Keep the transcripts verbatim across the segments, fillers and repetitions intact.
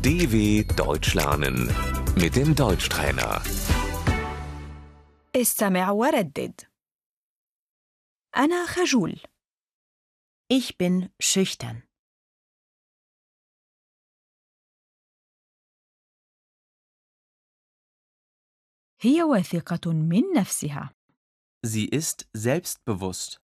D W Deutsch lernen mit dem Deutschtrainer. استمع وردد. أنا خجول. Ich bin schüchtern. هي واثقة من نفسها. Sie ist selbstbewusst.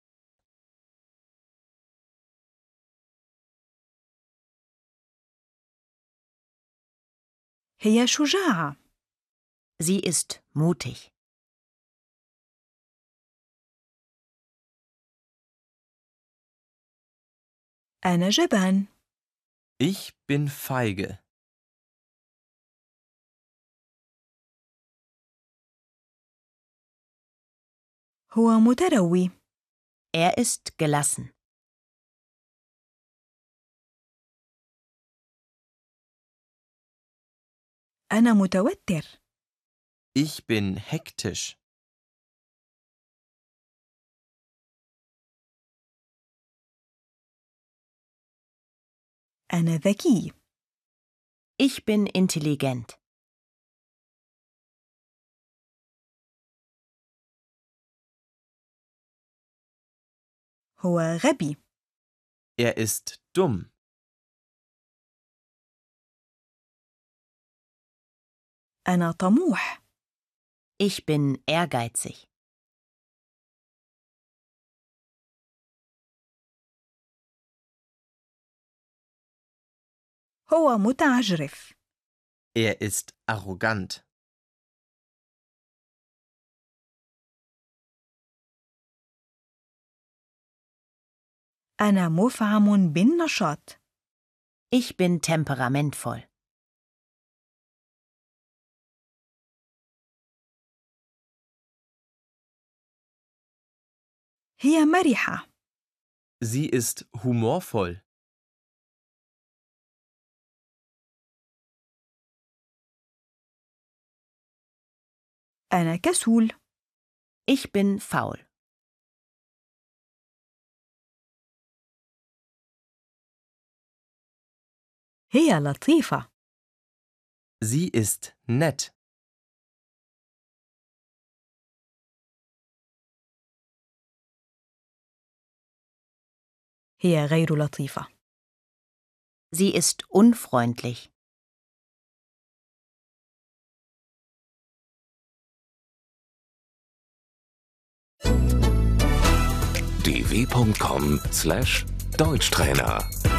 هي شجاعة. Sie ist mutig. أنا جبان. Ich bin feige. هو متروي. Er ist gelassen. أنا متوتر. Ich bin hektisch. أنا ذكي. Ich bin intelligent. هو غبي. Er ist dumm. أنا طموح. Ich bin ehrgeizig. هو متعجرف. Er ist arrogant. أنا مفعم بالنشاط. Ich bin temperamentvoll. هي مرحة. Sie ist humorvoll. أنا كسول. Ich bin faul. هي لطيفة. Sie ist nett. هي غير لطيفة. Sie ist unfreundlich. d w punkt com slash Deutschtrainer